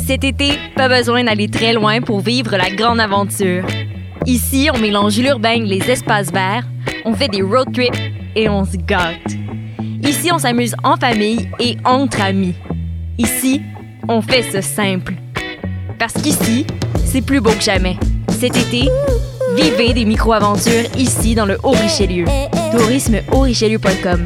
Cet été, pas besoin d'aller très loin pour vivre la grande aventure. Ici, on mélange l'urbain et les espaces verts, on fait des road trips et on se gâte. Ici, on s'amuse en famille et entre amis. Ici, on fait ça simple. Parce qu'ici, c'est plus beau que jamais. Cet été, vivez des micro-aventures ici dans le Haut-Richelieu. tourismehaut-richelieu.com.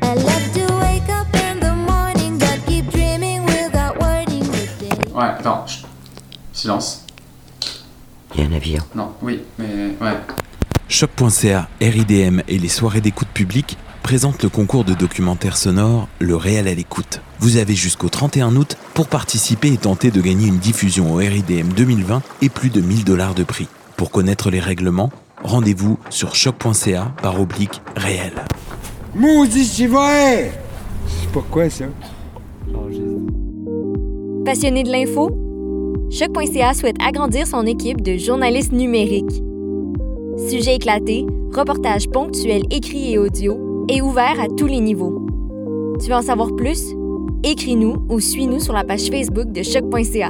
Ouais, attends, silence. Il y a un avion. Non, oui, mais ouais. Choc.ca, RIDM et les soirées d'écoute publique présentent le concours de documentaire sonore Le Réel à l'écoute. Vous avez jusqu'au 31 août pour participer et tenter de gagner une diffusion au RIDM 2020 et plus de 1 000 $ de prix. Pour connaître les règlements, rendez-vous sur choc.ca/réel. Maudit, c'est vrai! C'est pas quoi ça? Passionné de l'info? Choc.ca souhaite agrandir son équipe de journalistes numériques. Sujets éclatés, reportages ponctuels écrits et audio et ouverts à tous les niveaux. Tu veux en savoir plus? Écris-nous ou suis-nous sur la page Facebook de Choc.ca.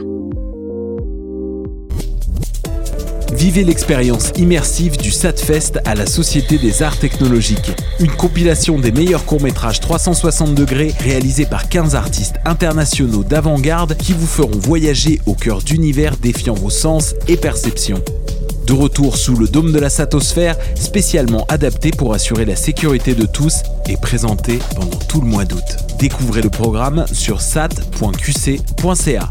Vivez l'expérience immersive du SATFest à la Société des Arts Technologiques. Une compilation des meilleurs courts-métrages 360 degrés réalisés par 15 artistes internationaux d'avant-garde qui vous feront voyager au cœur d'univers défiant vos sens et perceptions. De retour sous le dôme de la Satosphère, spécialement adapté pour assurer la sécurité de tous et présenté pendant tout le mois d'août. Découvrez le programme sur sat.qc.ca.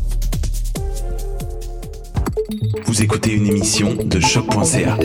Vous écoutez une émission de choc.ca.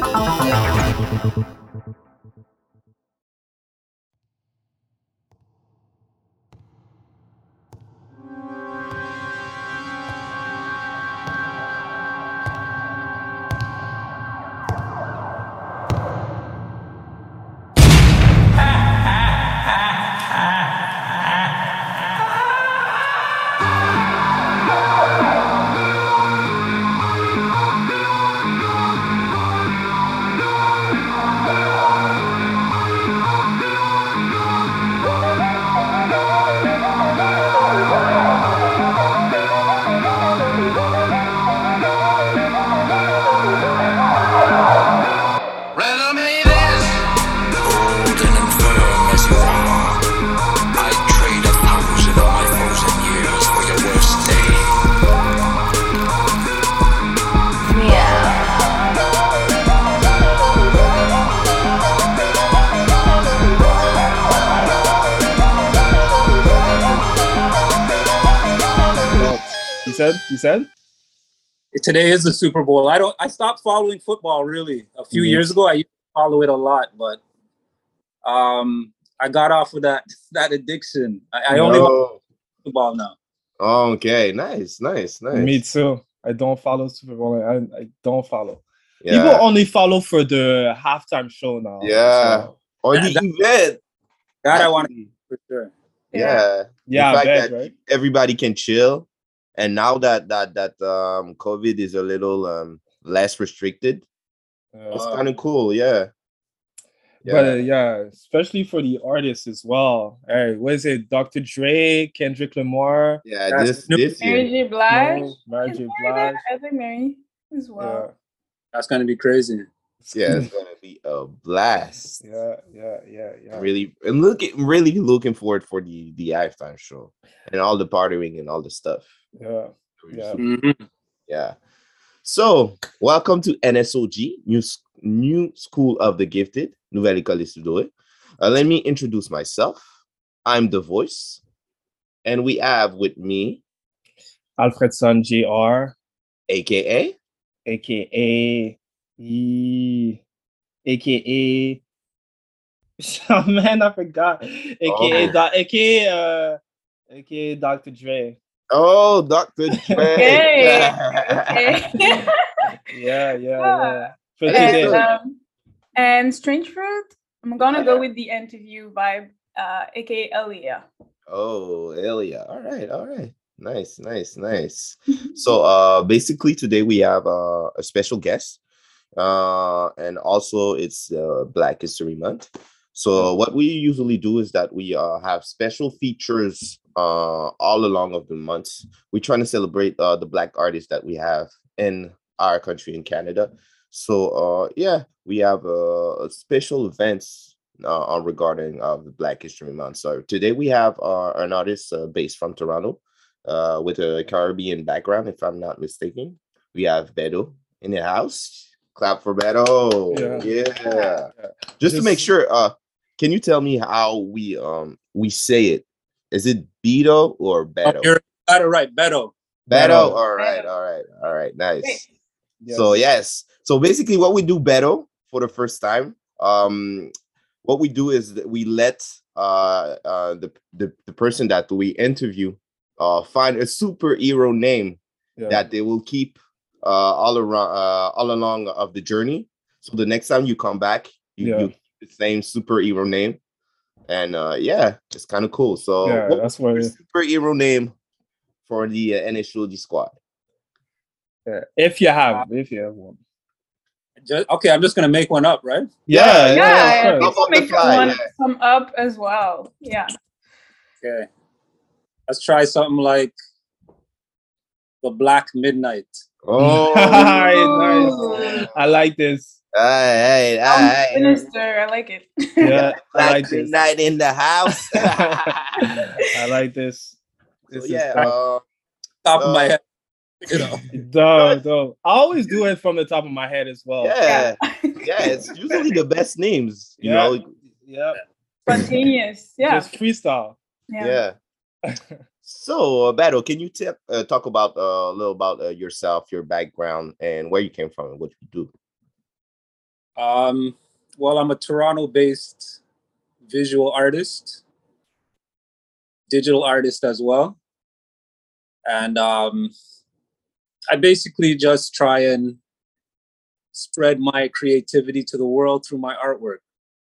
You said? Today is the Super Bowl. I stopped following football really a few years ago. I used to follow it a lot, but I got off of that addiction. I only watch football now. Oh, okay, nice. Me too. I don't follow Super Bowl. I don't follow. Yeah. People only follow for the halftime show now. Yeah, so. Or the event. That I want to for sure. Yeah. The fact bet, that right? everybody can chill. And now that COVID is a little less restricted, it's kind of cool, yeah. But especially for the artists as well. Hey, what is it? Dr. Dre, Kendrick Lamar. Yeah, this year. Mary J. Blige. Mary J. Blige. I think Mary as well. Yeah. That's gonna be crazy. Yeah, it's gonna be a blast. Yeah. Really looking forward for the halftime show and all the partying and all the stuff. Yeah. Mm-hmm. Yeah. So, welcome to NSOG, New School of the Gifted, Nouvelle École des Surdoués. Let me introduce myself. I'm The Voice, and we have with me Alfredson Jr. AKA oh man, I forgot. AKA Dr. Dre. Oh, Dr. Dre. Okay. Yeah. And Strange Fruit, I'm gonna go with the interview vibe, aka Elia. Oh, Elia. All right. Nice. So basically today we have a special guest. And also it's Black History Month. So what we usually do is that we have special features all along of the months. We're trying to celebrate the Black artists that we have in our country in Canada. So yeah, we have special events regarding the Black History Month. So today we have an artist based from Toronto with a Caribbean background, if I'm not mistaken. We have Beto in the house. Clap for Beto. Yeah. Just to make sure, can you tell me how we say it? Is it Beto or Beto? You're got it right, Beto. Beto. All right. Nice. Yes. So yes. So basically, what we do, Beto, for the first time, what we do is that we let the person that we interview find a superhero name that they will keep all along of the journey. So the next time you come back, you keep the same superhero name, and it's kind of cool. So that's what superhero name for the NSOG squad. If you have one. Okay, I'm just gonna make one up, right? Yeah. People make some up as well. Yeah. Okay. Let's try something like the Black Midnight. Oh, nice. I like this. Hey. Minister, I like it. Yeah, Black I like this. Midnight in the house. I like this. This is top of my head. You know, I always do it from the top of my head as well. Yeah, it's usually the best names, you know. Yeah, spontaneous. Yeah, just freestyle. Yeah. So, Beto, can you talk about a little about yourself, your background, and where you came from, and what you do? Well, I'm a Toronto-based visual artist, digital artist as well, and I basically just try and spread my creativity to the world through my artwork.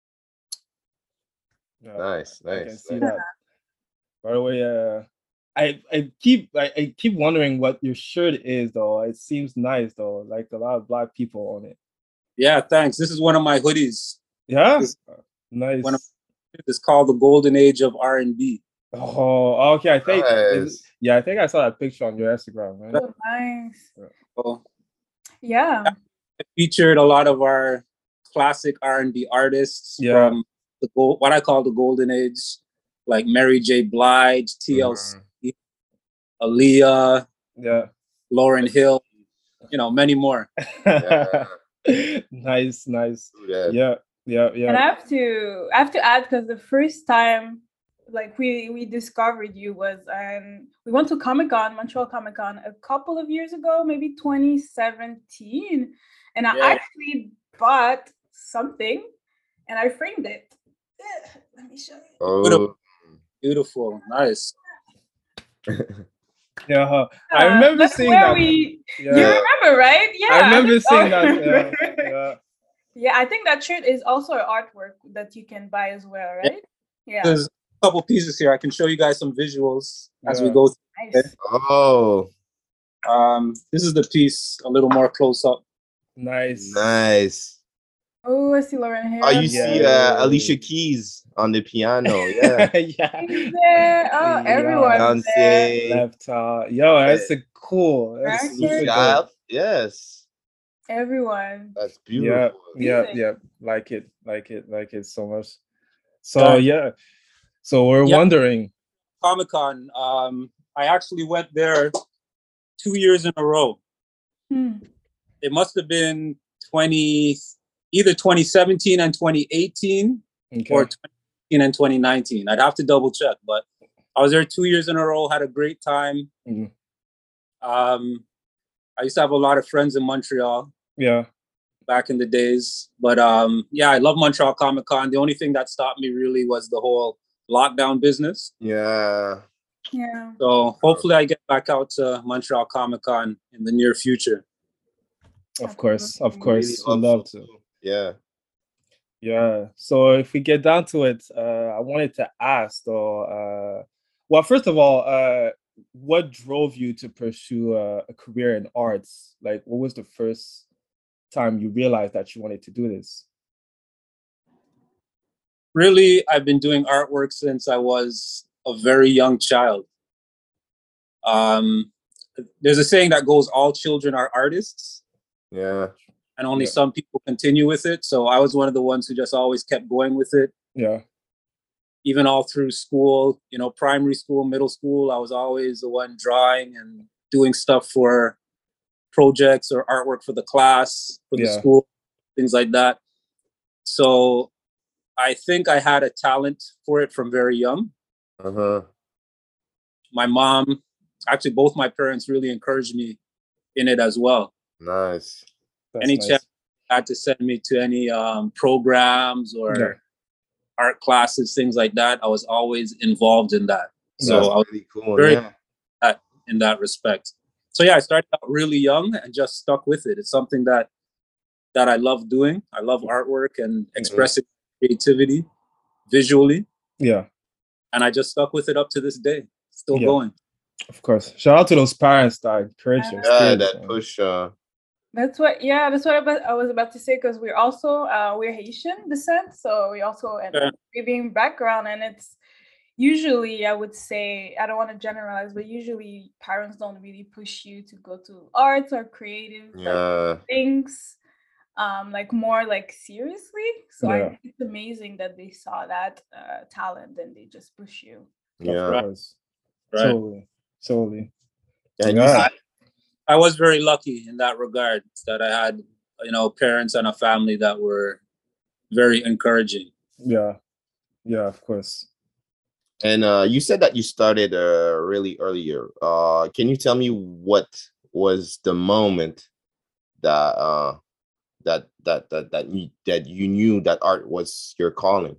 Nice. I can see that. By the way, I keep wondering what your shirt is, though. It seems nice, though. Like a lot of Black people on it. Yeah, thanks. This is one of my hoodies. Yeah, nice. It's called the Golden Age of R&B. Oh, okay. I think nice. I think I saw that picture on your Instagram. Right? Oh, nice. Yeah. I featured a lot of our classic R&B artists from what I call the Golden Age, like Mary J. Blige, TLC, Aaliyah, Lauryn Hill, many more. Nice. Yeah. And I have to add, because the first time like we discovered you was we went to Comic-Con, Montreal Comic-Con, a couple of years ago, maybe 2017, and I actually bought something and I framed it. Let me show you. Oh, beautiful, nice. Yeah, I remember seeing that. You remember, right? Yeah, I remember seeing that. Yeah, I think that shirt is also an artwork that you can buy as well, right? Yeah. There's a couple pieces here. I can show you guys some visuals as we go through. Nice. Oh. This is the piece a little more close up. Nice. Oh, I see Lauryn Hill. Oh, you see Alicia Keys on the piano. Yeah. There. Oh, everyone's there. Left. That's a cool. Child. Yes. Everyone. That's beautiful. Yeah. Like it so much. So So we're wondering. Comic-Con. I actually went there 2 years in a row. It must have been either 2017 and 2018 or 2018 and 2019. I'd have to double check, but I was there 2 years in a row, had a great time. I used to have a lot of friends in Montreal. Yeah. Back in the days. But I love Montreal Comic-Con. The only thing that stopped me really was the whole lockdown business. Yeah. So hopefully I get back out to Montreal Comic-Con in the near future. Of course. Really I'd love to. Yeah. So if we get down to it, I wanted to ask though, well, first of all, what drove you to pursue a career in arts? Like, what was the first time you realized that you wanted to do this? Really, I've been doing artwork since I was a very young child. There's a saying that goes, all children are artists. Yeah. And only some people continue with it. So I was one of the ones who just always kept going with it. Yeah. Even all through school, you know, primary school, middle school, I was always the one drawing and doing stuff for projects or artwork for the class, for the school, things like that. So I think I had a talent for it from very young. My mom, actually both my parents really encouraged me in it as well. Nice. Any chance I had to send me to any programs or art classes, things like that, I was always involved in that. So I was really cool. Very in that respect. So I started out really young and just stuck with it. It's something that I love doing. I love artwork and expressing creativity visually. Yeah. And I just stuck with it up to this day. Still going. Of course. Shout out to those parents that encourage you. Yeah, that push. That's what I was about to say, because we're also we're Haitian descent, so we also Caribbean background, and it's usually, I would say, I don't want to generalize, but usually parents don't really push you to go to arts or creative things, like more like seriously. So I think it's amazing that they saw that talent and they just push you. Yeah, totally. And I was very lucky in that regard, that I had, you know, parents and a family that were very encouraging. Yeah, of course. And you said that you started really earlier. Can you tell me what was the moment that you knew that art was your calling?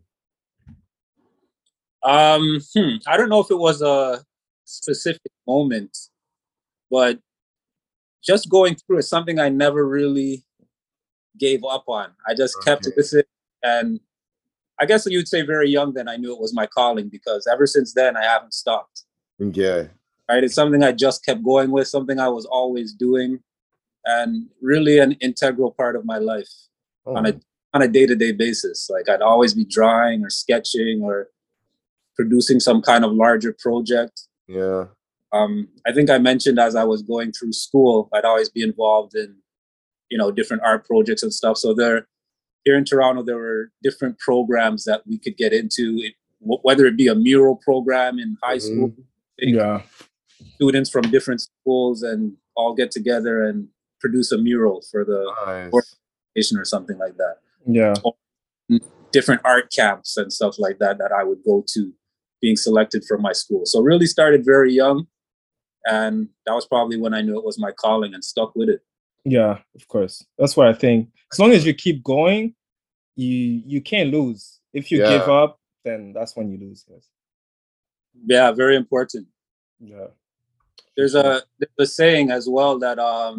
I don't know if it was a specific moment, but just going through it, something I never really gave up on. I just kept with it. And I guess you'd say very young then I knew it was my calling, because ever since then I haven't stopped. Yeah. Right. It's something I just kept going with, something I was always doing, and really an integral part of my life on a day-to-day basis. Like I'd always be drawing or sketching or producing some kind of larger project. Yeah. I think I mentioned as I was going through school, I'd always be involved in, you know, different art projects and stuff. So here in Toronto, there were different programs that we could get into, whether it be a mural program in high school. Students from different schools and all get together and produce a mural for the organization or something like that. Yeah. Or different art camps and stuff like that I would go to, being selected from my school. So really started very young. And that was probably when I knew it was my calling and stuck with it. Yeah, of course. That's what I think. As long as you keep going, you can't lose. If you give up, then that's when you lose. Yeah, very important. Yeah. There's a saying as well that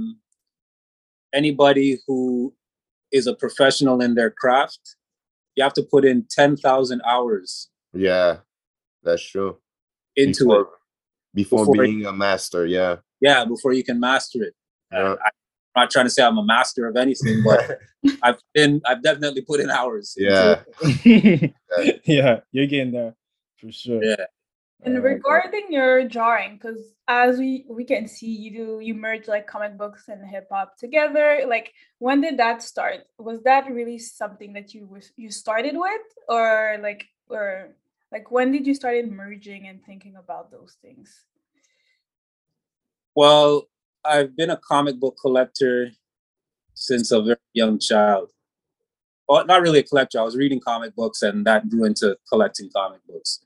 anybody who is a professional in their craft, you have to put in 10,000 hours. Yeah, that's true. Into it. Before being a master, Yeah, before you can master it. I'm not trying to say I'm a master of anything, but I've definitely put in hours. Yeah. Yeah, you're getting there for sure. Yeah. And regarding your drawing, because as we can see, you merge like comic books and hip hop together. Like, when did that start? Was that really something that you started with, or when did you start merging and thinking about those things? Well, I've been a comic book collector since a very young child. Well, not really a collector. I was reading comic books, and that grew into collecting comic books.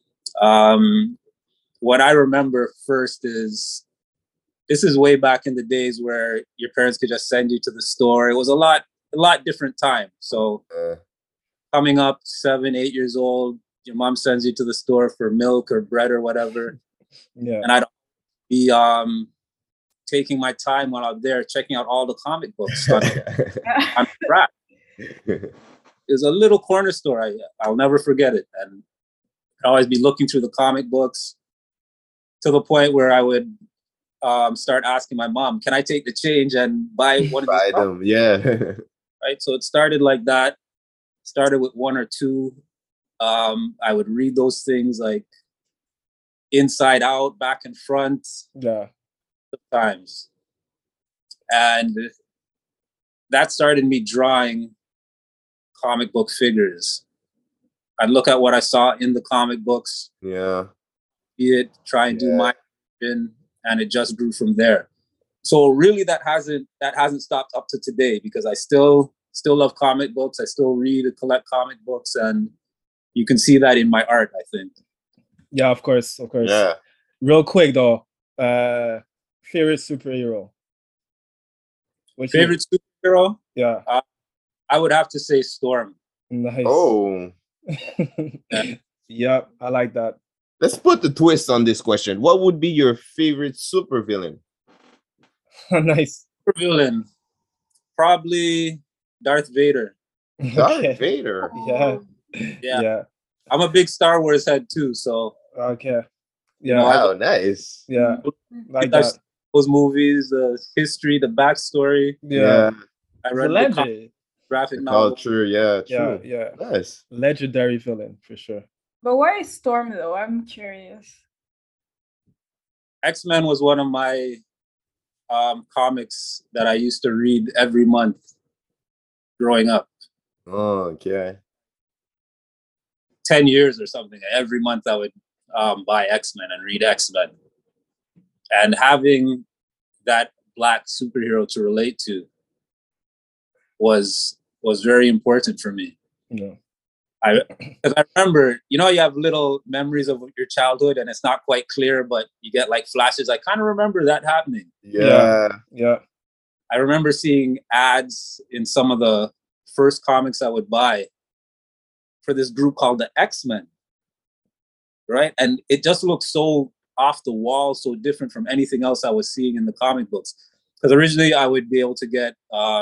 What I remember first is, this is way back in the days where your parents could just send you to the store. It was a lot different time. So coming up 7, 8 years old, your mom sends you to the store for milk or bread or whatever. Yeah. And I'd be taking my time while I'm there, checking out all the comic books on the rack. It was a little corner store. I'll never forget it. And I'd always be looking through the comic books, to the point where I would start asking my mom, can I take the change and buy one of these them? Yeah. Right. So it started like that. Started with 1 or 2. I would read those things like inside out, back and front. Yeah. Sometimes. And that started me drawing comic book figures. I'd look at what I saw in the comic books. Yeah. Try and do my vision, and it just grew from there. So really that hasn't stopped up to today, because I still love comic books. I still read and collect comic books, and you can see that in my art, I think. Yeah, of course. Yeah. Real quick though, favorite superhero? Favorite superhero? Yeah. I would have to say Storm. Nice. Oh. Yeah, I like that. Let's put the twist on this question. What would be your favorite supervillain? Nice. Supervillain, probably Darth Vader. Darth Vader. Yeah. I'm a big Star Wars head too, so. Okay. Yeah. Wow, nice. Yeah. Like that. Those movies, the history, the backstory. Yeah. I read the graphic novel. True. Yeah. Nice. Legendary villain for sure. But why is Storm though? I'm curious. X-Men was one of my comics that I used to read every month growing up. Oh, okay. 10 years or something. Every month I would buy X-Men and read X-Men. And having that Black superhero to relate to was very important for me. Yeah. Because I remember, you have little memories of your childhood and it's not quite clear, but you get like flashes. I kind of remember that happening. Yeah. I remember seeing ads in some of the first comics I would buy for this group called the X-Men, right? And it just looked so off the wall, so different from anything else I was seeing in the comic books. Because originally I would be able to get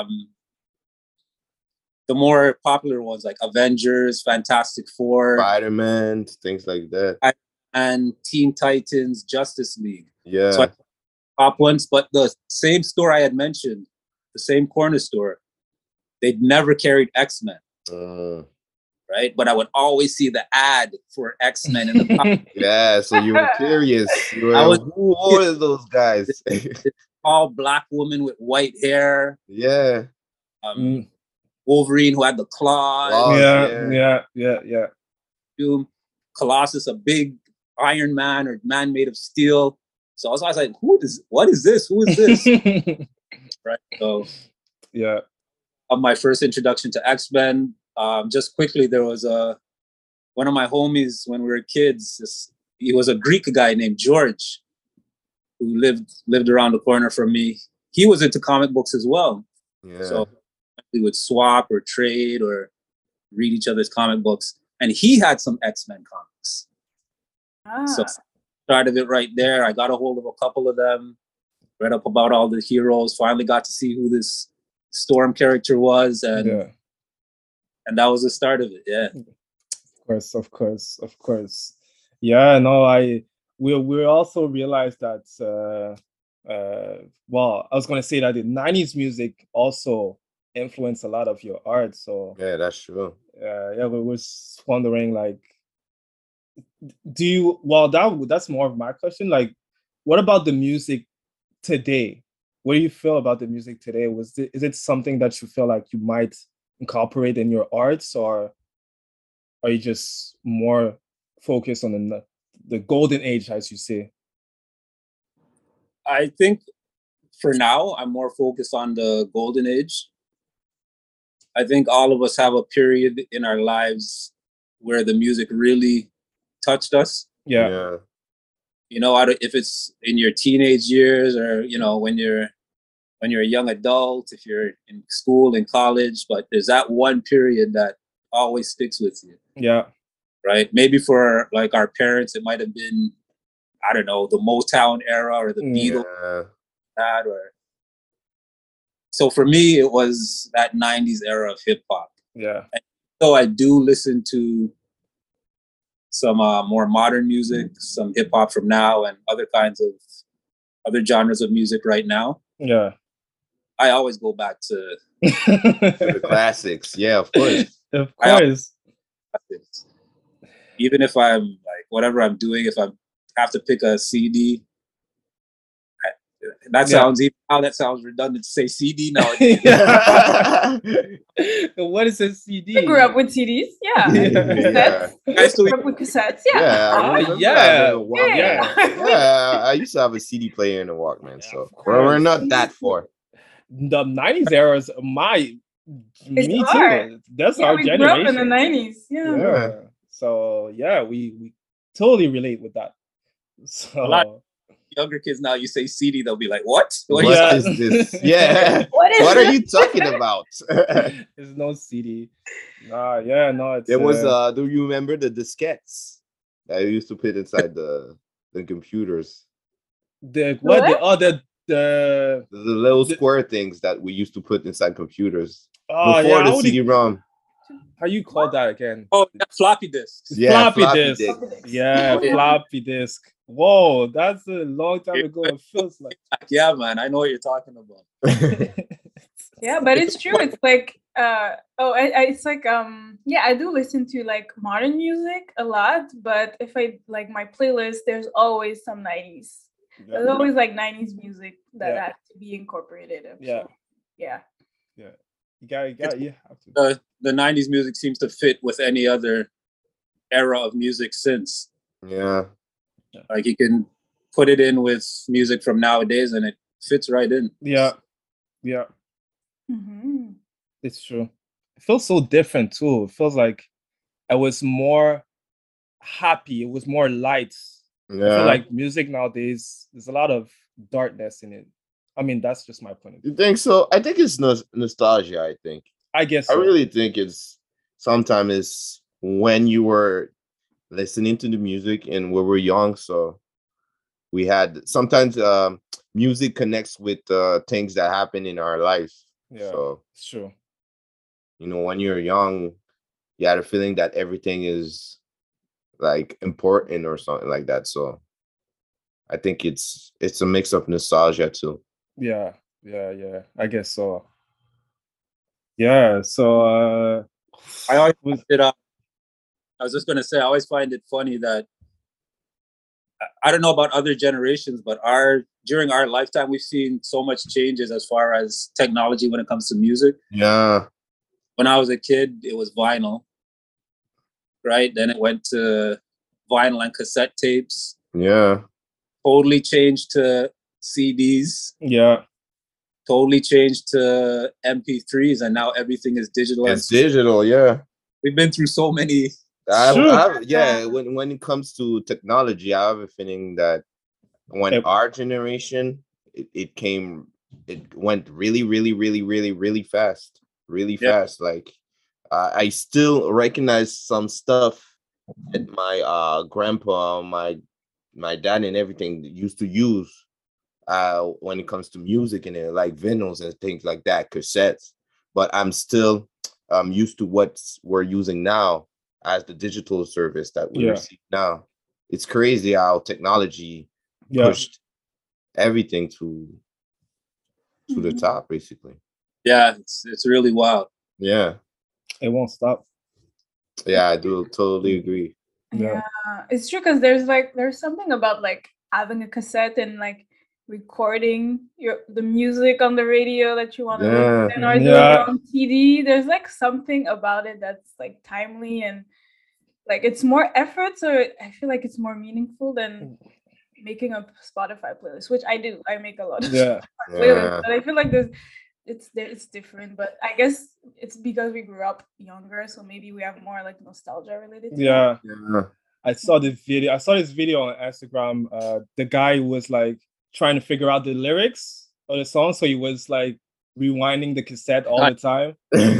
the more popular ones like Avengers, Fantastic Four, Spider-Man, things like that. And Teen Titans, Justice League. Yeah. So top ones, but the same store I had mentioned, the same corner store, they'd never carried X-Men. Right? But I would always see the ad for X-Men in the Yeah, so you were curious. Who are those guys? All Black woman with white hair. Yeah. Wolverine who had the claws. Yeah. Colossus, a big Iron Man or man made of steel. So I was like, what is this? Who is this? Right. So yeah. My first introduction to X-Men. Just quickly, there was one of my homies when we were kids. He was a Greek guy named George, who lived around the corner from me. He was into comic books as well. Yeah. So we would swap or trade or read each other's comic books. And he had some X-Men comics. So started it right there. I got a hold of a couple of them, read up about all the heroes, finally got to see who this Storm character was. And that was the start of it. Yeah. Of course. Yeah, no, we also realized that, well, I was going to say that the 90s music also influenced a lot of your art. So yeah, that's true. Yeah, we was wondering, like, that's more of my question. Like, what about the music today? What do you feel about the music today? Is it something that you feel like you might incorporate in your arts, or are you just more focused on the golden age, as you say? I think for now, I'm more focused on the golden age. I think all of us have a period in our lives where the music really touched us. Yeah. If it's in your teenage years or, when you're a young adult, if you're in school, in college, but there's that one period that always sticks with you. Yeah. Right. Maybe for like our parents, it might have been, I don't know, the Motown era or the Beatles. So for me, it was that 90s era of hip hop. Yeah. And so I do listen to some more modern music, some hip hop from now and other other genres of music right now. Yeah. I always go back to the classics. Yeah, of course. Of course. Even if I'm like, whatever I'm doing, if I'm have to pick a CD. That sounds redundant to say CD now. What is a CD? I grew up with CDs. Yeah. Cassettes. I still grew up with cassettes. I used to have a CD player in a Walkman, so we're not that far. The 90s era is me too. That's our we generation. Grew up in the 90s. Yeah. So we totally relate with that. So a lot of younger kids now, you say CD, they'll be like, "What? What is this? Yeah. What are you talking about?" There's no CD. It's there was do you remember the diskettes that you used to put inside the computers? The little square things that we used to put inside computers before the CD-ROM. How you call that again? Oh, floppy disks. Yeah, floppy disk. Yeah, floppy disk. Whoa, that's a long time ago. It feels like. Yeah, man, I know what you're talking about. Yeah, but it's true. It's like it's like I do listen to like modern music a lot, but if I like my playlist, there's always some 90s. There's always like 90s music that has to be incorporated. Yeah. You have to. The 90s music seems to fit with any other era of music since. Yeah. Like you can put it in with music from nowadays and it fits right in. Yeah. Mm-hmm. It's true. It feels so different too. It feels like I was more happy. It was more light. Yeah. I feel like music nowadays, there's a lot of darkness in it. I mean, that's just my point of view. You think so? I think it's nostalgia, I think. I guess so. I really think sometimes it's when you were listening to the music and we were young, so we had sometimes music connects with things that happen in our life. Yeah, so it's true. When you're young, you had a feeling that everything is like important or something like that. So I think it's a mix of nostalgia too. Yeah. I guess so. Yeah. So I always I was just gonna say, I always find it funny that I don't know about other generations, but during our lifetime, we've seen so much changes as far as technology when it comes to music. Yeah. When I was a kid, it was vinyl, right? Then it went to vinyl and cassette tapes. Yeah. Totally changed to CDs. Yeah. Totally changed to MP3s, and now everything is digital. It's digital, yeah. We've been through so many. When it comes to technology, I have a feeling that when our generation, it went really, really, really, really, really fast. Really fast. Like I still recognize some stuff that my grandpa, my dad and everything used to use when it comes to music and like vinyls and things like that, cassettes. But I'm still used to what we're using now as the digital service that we receive now. It's crazy how technology pushed everything to the top, basically. Yeah, it's really wild. Yeah. It won't stop. Yeah, I do totally agree. Yeah, it's true because there's something about like having a cassette and like recording the music on the radio that you want to listen or do it on CD. There's like something about it that's like timely and like it's more effort, so I feel like it's more meaningful than making a Spotify playlist, which I do. I make a lot of Spotify playlists, but I feel like it's different. But I guess it's because we grew up younger, so maybe we have more like nostalgia related to that. Yeah. I saw this video on Instagram. The guy was like trying to figure out the lyrics of the song, so he was like rewinding the cassette all the time.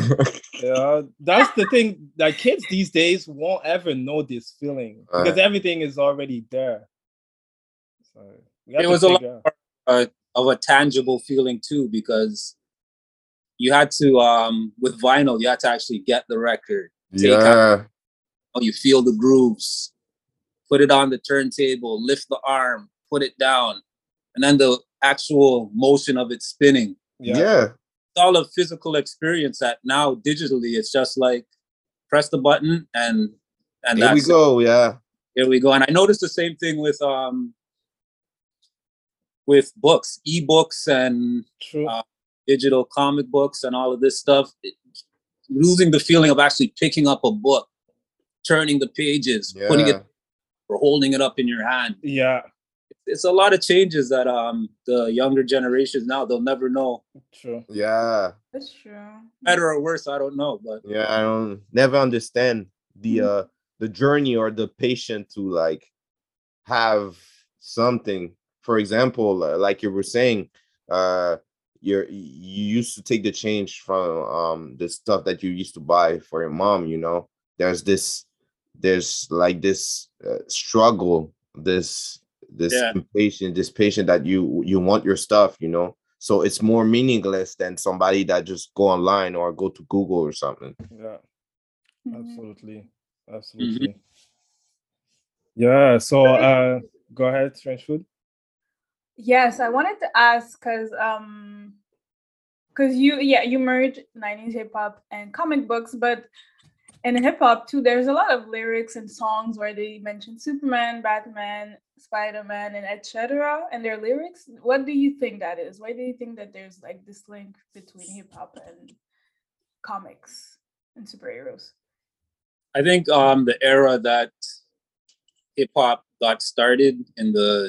That's the thing. Like kids these days won't ever know this feeling because everything is already there. So it was a lot of a tangible feeling too, because you had to with vinyl, you had to actually get the record. You feel the grooves, put it on the turntable, lift the arm, put it down, and then the actual motion of it spinning. Yeah. It's all a physical experience that now digitally it's just like press the button and here we go. Yeah. Here we go. And I noticed the same thing with books, ebooks, and digital comic books, and all of this stuff. Losing the feeling of actually picking up a book, turning the pages, putting it, or holding it up in your hand. Yeah. It's a lot of changes that the younger generations now, they'll never know. True. Yeah. That's true. Better or worse, I don't know, but yeah, I don't never understand the journey or the patient to like have something. For example, like you were saying, you used to take the change from the stuff that you used to buy for your mom. You know, there's like this struggle, this impatient, this patient that you want your stuff. You know, so it's more meaningless than somebody that just go online or go to Google or something. Yeah, absolutely. Yeah. So go ahead, Strange Food. Yes, I wanted to ask because you merge 90s hip hop and comic books, but in hip hop too, there's a lot of lyrics and songs where they mention Superman, Batman, Spider-Man, and etc. and their lyrics. What do you think that is? Why do you think that there's like this link between hip hop and comics and superheroes? I think the era that hip hop got started in the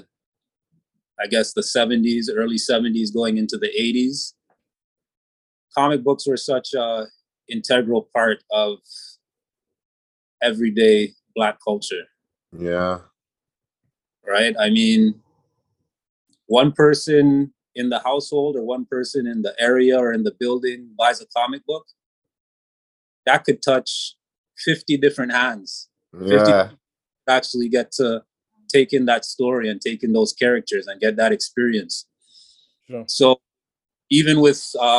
70s, early 70s, going into the 80s, comic books were such a integral part of everyday Black culture. Yeah. Right? I mean, one person in the household or one person in the area or in the building buys a comic book, that could touch 50 different hands. Yeah. 50 actually get to take in that story and take in those characters and get that experience. Sure. So even with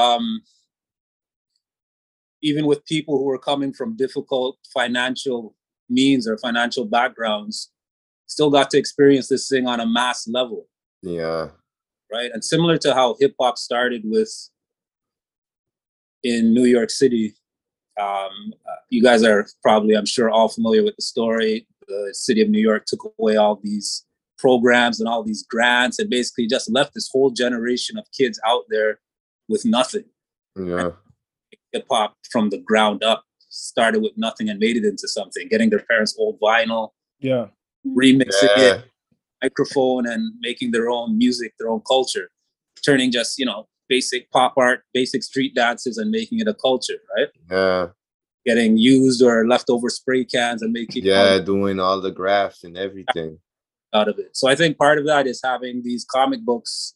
people who are coming from difficult financial means or financial backgrounds, still got to experience this thing on a mass level. Yeah. Right. And similar to how hip hop started in New York City, you guys are probably, I'm sure, all familiar with the story. The city of New York took away all these programs and all these grants and basically just left this whole generation of kids out there with nothing. Yeah. Hip hop from the ground up started with nothing and made it into something, getting their parents' old vinyl, remixing it, microphone, and making their own music, their own culture, turning just, basic pop art, basic street dances and making it a culture, right? Yeah. Getting used or leftover spray cans and making doing all the graphs and everything out of it. So I think part of that is having these comic books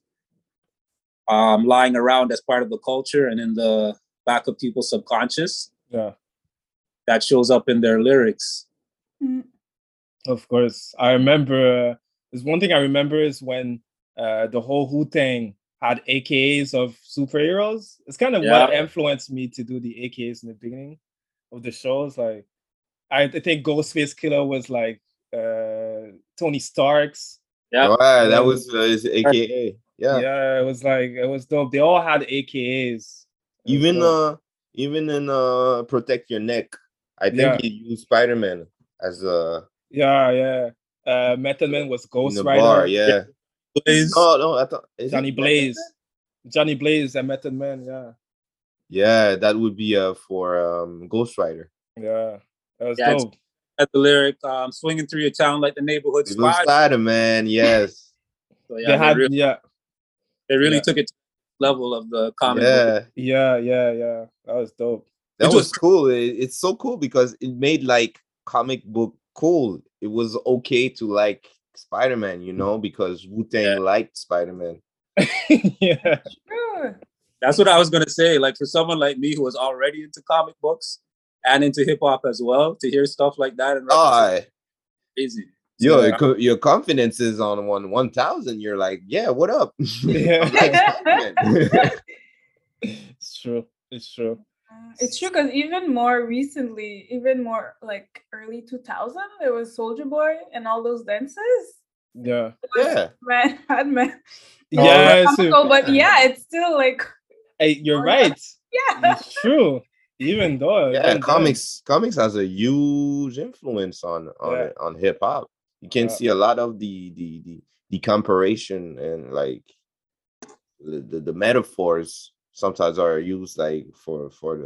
lying around as part of the culture and in the back of people's subconscious. Yeah. That shows up in their lyrics. Of course. I remember, there's one thing I remember is when the whole Wu-Tang had AKAs of superheroes. It's kind of what influenced me to do the AKAs in the beginning of the shows. Like, I think Ghostface Killer was like Tony Stark's. Yeah, that was his AKA. Yeah, it was dope. They all had AKAs. Even in Protect Your Neck, I think he used Spider-Man as a Method Man was Ghost in the Rider. bar, yeah. Blaze. No, I thought Johnny Blaze. Johnny Blaze and Method Man, Yeah, that would be for Ghost Rider. Yeah, that was dope. At the lyric, swinging through your town like the neighborhood Spider-Man, yes. So they really took it to the level of the comic book. Yeah. That was dope. That was cool. It's so cool because it made like comic book cool. It was okay to like Spider-Man, because Wu-Tang liked Spider-Man. Yeah. That's what I was gonna say. Like for someone like me who was already into comic books and into hip hop as well, to hear stuff like that and crazy. Your confidence is on 1,000. You're like, yeah, what up? It's true. It's true because even more recently, even more like early 2000, there was Soulja Boy and all those dances. Yeah. Batman. Yeah, but it's still like. Hey, you're right. Yeah, it's true. Even though, comics has a huge influence on hip hop. You can see a lot of the comparison and like the metaphors sometimes are used like for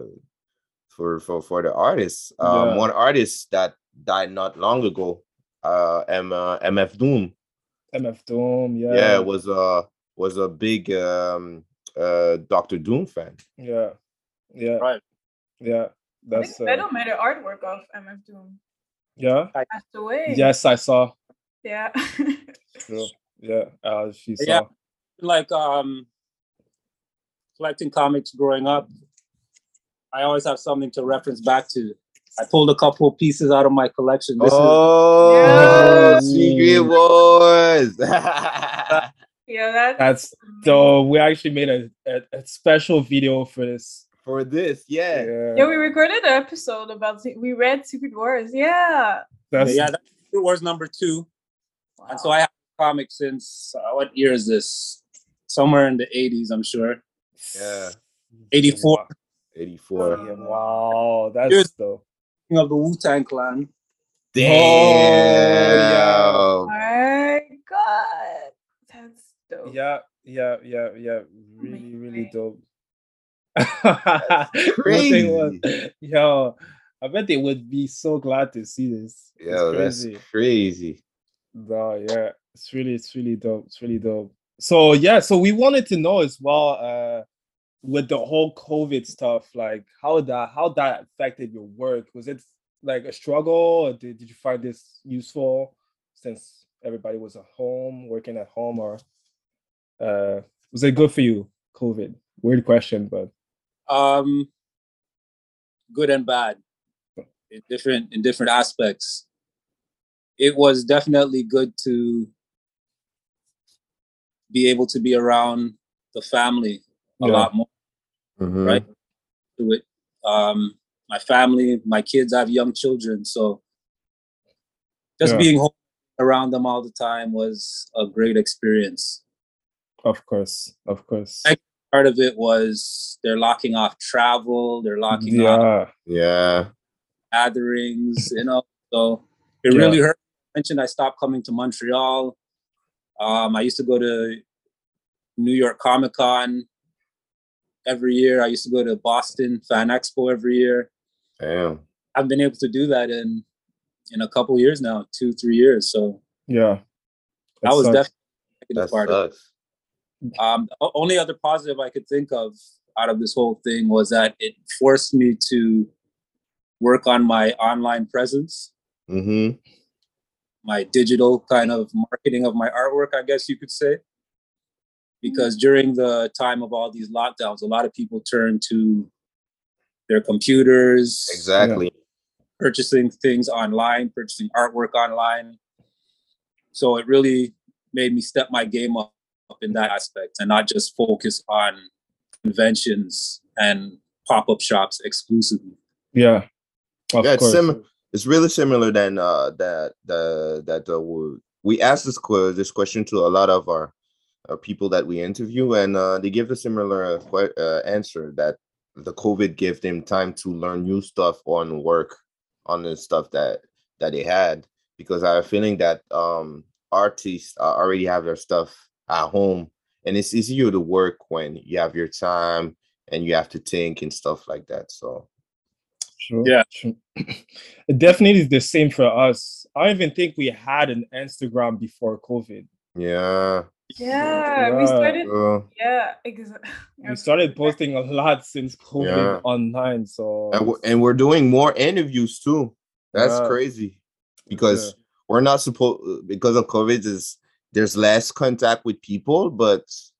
the artists. One artist that died not long ago, MF Doom. MF Doom, Yeah, was a big Dr. Doom fan. Yeah. Right. Yeah. That's I think I don't made an artwork of MF Doom. Yeah. Passed away. Yes, I saw. Yeah. True. Yeah. She saw. Yeah. Like collecting comics growing up, I always have something to reference back to. I pulled a couple of pieces out of my collection. This is Secret Wars. Yeah, that's so we actually made a special video for this. Yeah, we recorded an episode about we read Secret Wars. Yeah. That's Secret Wars #2. Wow. And so I have comics since what year is this? Somewhere in the 80s, I'm sure. Yeah. 84. 84. Yeah, wow, that's dope. Of the Wu-Tang Clan. Damn. Oh my god. That's dope. Yeah. Really dope. Crazy. Yo, I bet they would be so glad to see this. Yeah, that's crazy. No, yeah, it's really dope. It's really dope. So yeah, so we wanted to know as well, with the whole COVID stuff, like how that affected your work. Was it like a struggle, or did you find this useful since everybody was at home, working at home, or was it good for you, COVID? Weird question, but good and bad in different aspects. It was definitely good to be able to be around the family a lot more, right? To it, my family, my kids, I have young children, so just being home around them all the time was a great experience. Of course. Part of it was they're locking off travel, they're locking off gatherings, so it really hurt. I mentioned I stopped coming to Montreal. I used to go to New York Comic Con every year. I used to go to Boston Fan Expo every year. Damn. I've been able to do that in a couple years now, 2-3 years. So yeah, that was definitely a part of it. The only other positive I could think of out of this whole thing was that it forced me to work on my online presence, my digital kind of marketing of my artwork, I guess you could say. Because during the time of all these lockdowns, a lot of people turned to their computers. Exactly. Purchasing things online, purchasing artwork online. So it really made me step my game up in that aspect and not just focus on conventions and pop-up shops exclusively. Yeah. Of course. It's really similar than we asked this question to a lot of our people that we interview, and they give a similar answer that the COVID gave them time to learn new stuff on work on the stuff that they had, because I have a feeling that artists already have their stuff at home, and it's easier to work when you have your time and you have to think and stuff like that. So true. It definitely is the same for us. I don't even think we had an Instagram before COVID. We started. We started posting a lot since COVID online. So and we're doing more interviews too. That's crazy, because we're not supposed, because of COVID, there's less contact with people, but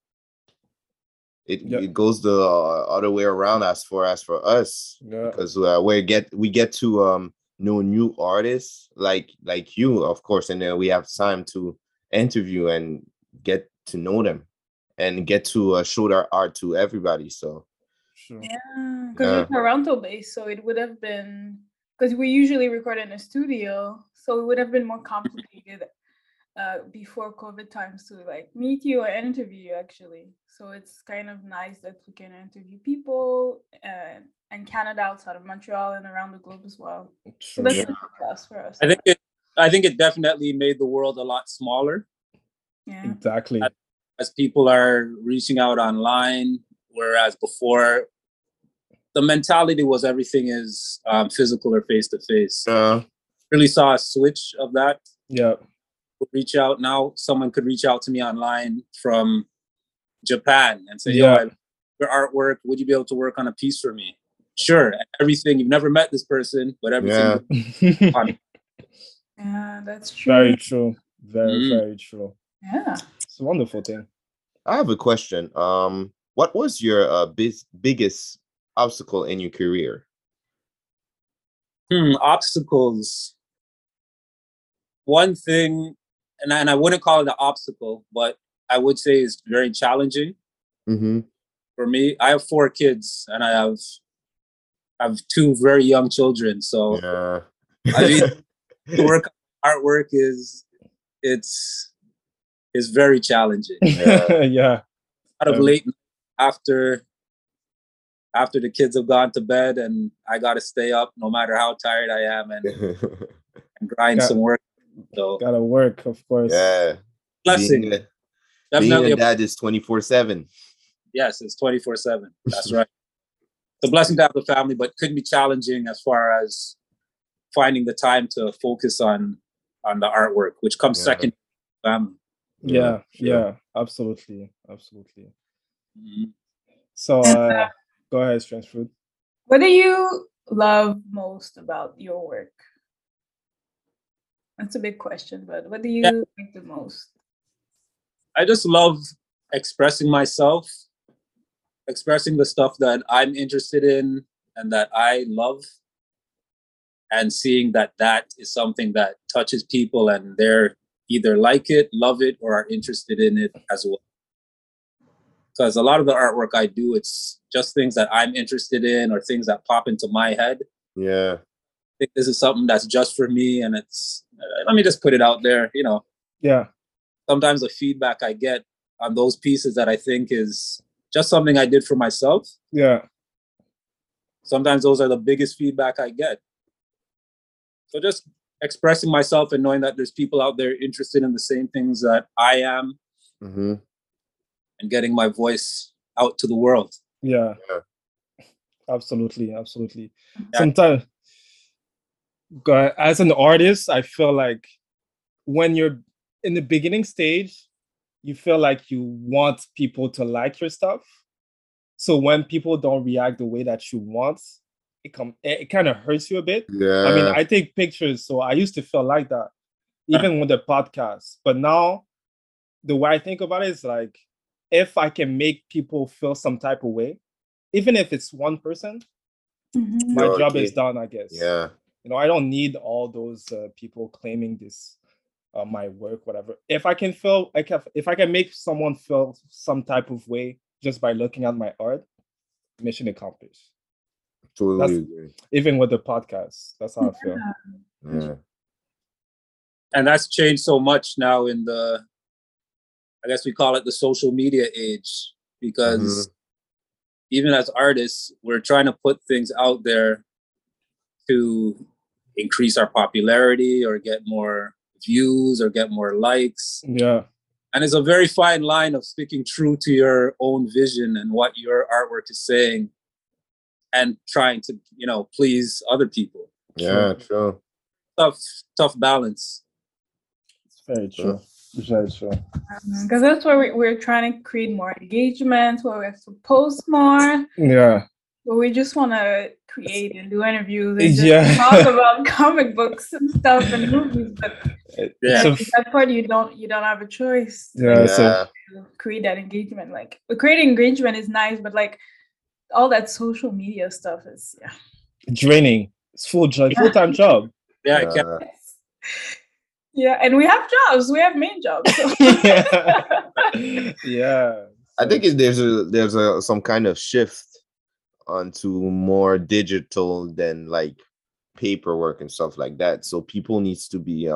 it goes the other way around as for us, because we get to know new artists like you, of course, and then we have time to interview and get to know them and get to show their art to everybody. So because we're Toronto based, so it would have been, because we usually record in a studio, so it would have been more complicated before COVID times to like meet you or interview you actually. So it's kind of nice that we can interview people in Canada, outside of Montreal, and around the globe as well. So that's a plus for us. I think I think it definitely made the world a lot smaller. Yeah. Exactly. As people are reaching out online, whereas before the mentality was everything is physical or face to face. Really saw a switch of that. Yeah. Reach out now. Someone could reach out to me online from Japan and say, Yeah. "Yo, your artwork. Would you be able to work on a piece for me?" Sure. Everything. You've never met this person, but everything. Yeah. Yeah, that's true. Very true. Very true. Yeah. It's a wonderful thing. I have a question. What was your biggest obstacle in your career? Obstacles. One thing, and I wouldn't call it an obstacle, but I would say is very challenging. Mm-hmm. For me. I have 4 kids, and I have 2 very young children. So I mean, to work on artwork is very challenging. Yeah. Out of late after the kids have gone to bed, and I got to stay up no matter how tired I am and grind some work. So gotta work, of course. Yeah. Blessing. Being a dad is 24/7. Yes, it's 24/7. That's right. It's a blessing to have a family, but could be challenging as far as finding the time to focus on the artwork, which comes second to family. Yeah, absolutely. Mm-hmm. So go ahead, Strange Fruit. What do you love most about your work? That's a big question, but what do you like the most? I just love expressing myself, expressing the stuff that I'm interested in and that I love, and seeing that is something that touches people and they're either like it, love it, or are interested in it as well. Because a lot of the artwork I do, it's just things that I'm interested in or things that pop into my head. Yeah. I think this is something that's just for me, and it's, let me just put it out there, Yeah. Sometimes the feedback I get on those pieces that I think is just something I did for myself. Yeah. Sometimes those are the biggest feedback I get. So just expressing myself and knowing that there's people out there interested in the same things that I am, and getting my voice out to the world. Yeah. Absolutely. Sometimes, as an artist, I feel like when you're in the beginning stage, you feel like you want people to like your stuff. So when people don't react the way that you want, it kind of hurts you a bit. Yeah. I mean, I take pictures, so I used to feel like that, even with the podcast. But now, the way I think about it is like, if I can make people feel some type of way, even if it's one person, my job is done, I guess. Yeah. I don't need all those people claiming this, my work, whatever. If I can make someone feel some type of way just by looking at my art, mission accomplished. Totally agree. Even with the podcast, that's how I feel. Yeah. And that's changed so much now in I guess we call it the social media age, because even as artists, we're trying to put things out there to increase our popularity or get more views or get more likes. Yeah. And it's a very fine line of sticking true to your own vision and what your artwork is saying and trying to, please other people. Yeah, true. Tough balance. It's very true. Very true. Because that's why we're trying to create more engagement, where we have to post more. Yeah. But we just want to create and do interviews and just talk about comic books and stuff and movies. But that part you don't have a choice. To create that engagement. Like creating engagement is nice, but like all that social media stuff is draining. It's full-time job. Yeah. Yeah, and we have jobs. We have main jobs. So. Yeah. I think there's some kind of shift onto more digital than like paperwork and stuff like that. So people needs to be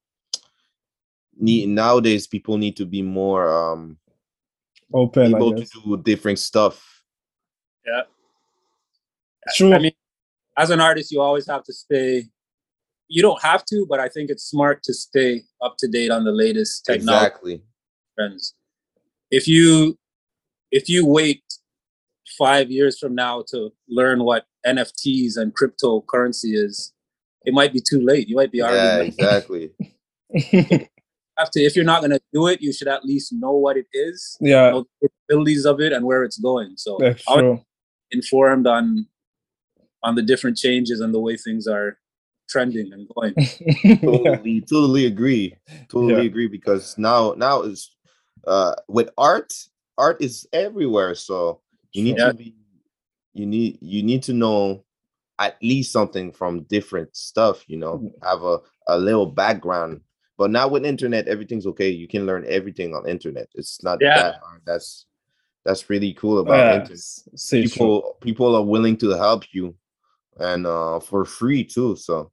nowadays people need to be more open, able to do different stuff. Yeah. True. I mean, as an artist, you always have to stay you don't have to, but I think it's smart to stay up to date on the latest technology trends. If you wait 5 years from now to learn what NFTs and cryptocurrency is, it might be too late. You might be already exactly. If you're not gonna do it, you should at least know what it is, know the capabilities of it and where it's going. So I'm informed on the different changes and the way things are trending and going. Totally agree. Agree, because now is with art is everywhere. So you need to be you need to know at least something from different stuff, have a little background. But now with internet, everything's okay. You can learn everything on internet. It's not that hard. That's really cool about internet. People are willing to help you, and for free too. So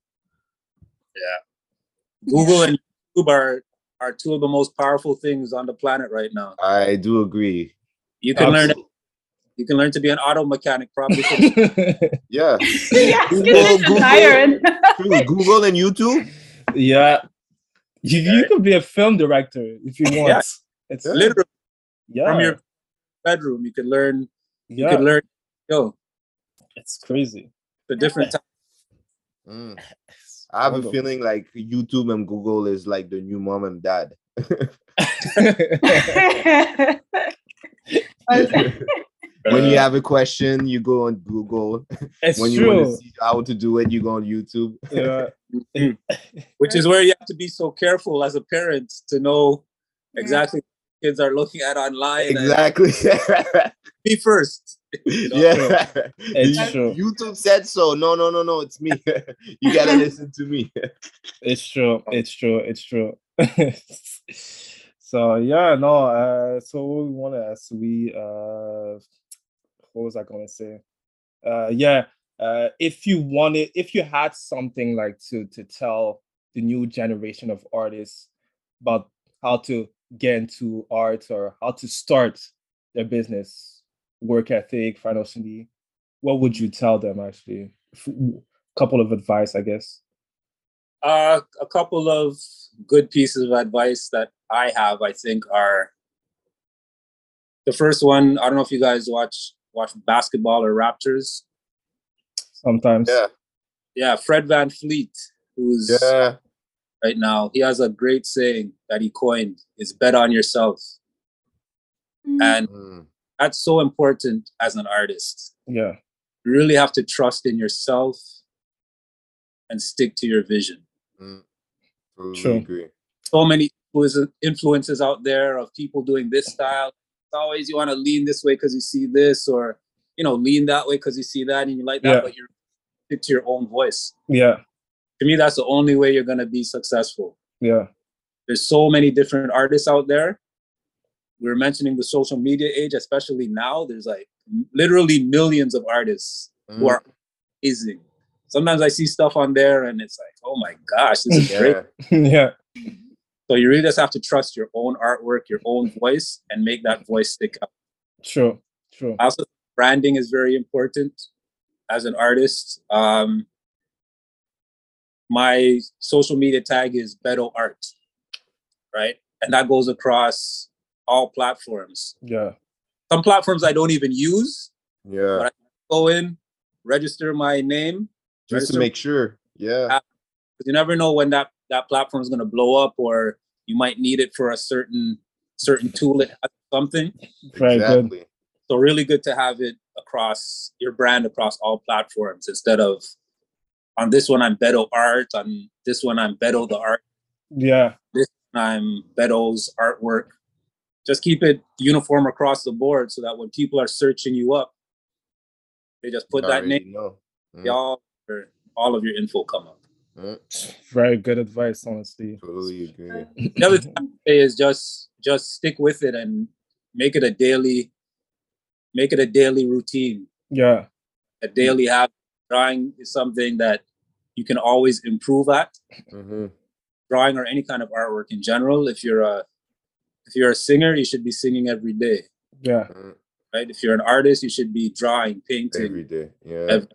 Google and YouTube are two of the most powerful things on the planet right now. I do agree. You can learn. You can learn to be an auto mechanic, probably. Yeah. Google and YouTube. Yeah. You could be a film director if you want. Yeah. It's literally from your bedroom. You could learn. You could learn. It's crazy. The different time. I have a feeling like YouTube and Google is like the new mom and dad. When you have a question, you go on Google. It's when you want to see how to do it, you go on YouTube. Which is where you have to be so careful as a parent to know exactly what kids are looking at online. Exactly. Be first. Yeah. It's true. YouTube said so. No, it's me. You gotta listen to me. It's true. So so what we want to ask, what was I going to say? If you had something like to tell the new generation of artists about how to get into art or how to start their business, work ethic, financially, what would you tell them actually? A couple of advice, I guess. A couple of good pieces of advice that I have, I think, are the first one. I don't know if you guys watch basketball or Raptors. Sometimes. Yeah. Fred VanVleet, who's right now, he has a great saying that he coined: is bet on yourself. And that's so important as an artist. Yeah. You really have to trust in yourself and stick to your vision. Totally agree. So many influences out there of people doing this style. It's always you want to lean this way because you see this, or lean that way because you see that and you like that, but you're stick to your own voice. Yeah. To me, that's the only way you're gonna be successful. Yeah. There's so many different artists out there. We're mentioning the social media age, especially now. There's like literally millions of artists who are amazing. Sometimes I see stuff on there and it's like, oh my gosh, this is great. Yeah. So you really just have to trust your own artwork, your own voice, and make that voice stick out. True. Also, branding is very important as an artist. My social media tag is Beto Art, right? And that goes across all platforms. Yeah. Some platforms I don't even use. Yeah. But I go in, register my name. Just to make sure. Yeah. Because you never know when that platform is going to blow up, or you might need it for a certain tool that has something. Very good. So really good to have it across your brand, across all platforms, instead of on this one I'm Beto Art, on this one I'm Beto the Art. Yeah. This one I'm Beto's artwork. Just keep it uniform across the board so that when people are searching you up, they just put that name. All of your info come up. Very good advice, honestly. Totally agree. The other thing I say is just stick with it and make it a daily routine. Yeah. A daily habit. Drawing is something that you can always improve at. Drawing or any kind of artwork in general. If you're a singer, you should be singing every day. Yeah. Right. If you're an artist, you should be drawing, painting every day. Yeah.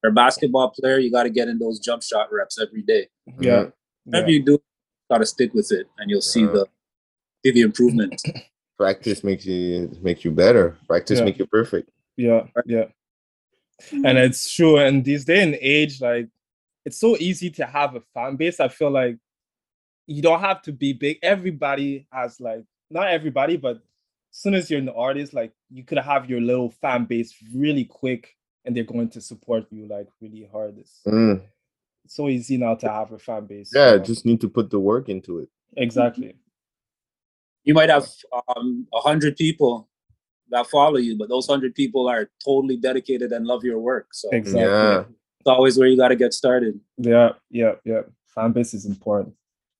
You're a basketball player, you got to get in those jump shot reps every day. Yeah. Whatever you do, you got to stick with it, and you'll see the improvement. Practice makes you better. Practice make you perfect. Yeah. And it's true. And these day and age, like, it's so easy to have a fan base. I feel like you don't have to be big. Everybody has, like, not everybody, but as soon as you're an artist, like, you could have your little fan base really quick, and they're going to support you like really hard. It's so easy now to have a fan base. Yeah, just need to put the work into it. Exactly. You might have 100 people that follow you, but those 100 people are totally dedicated and love your work. So exactly, it's always where you got to get started. Yeah. Fan base is important.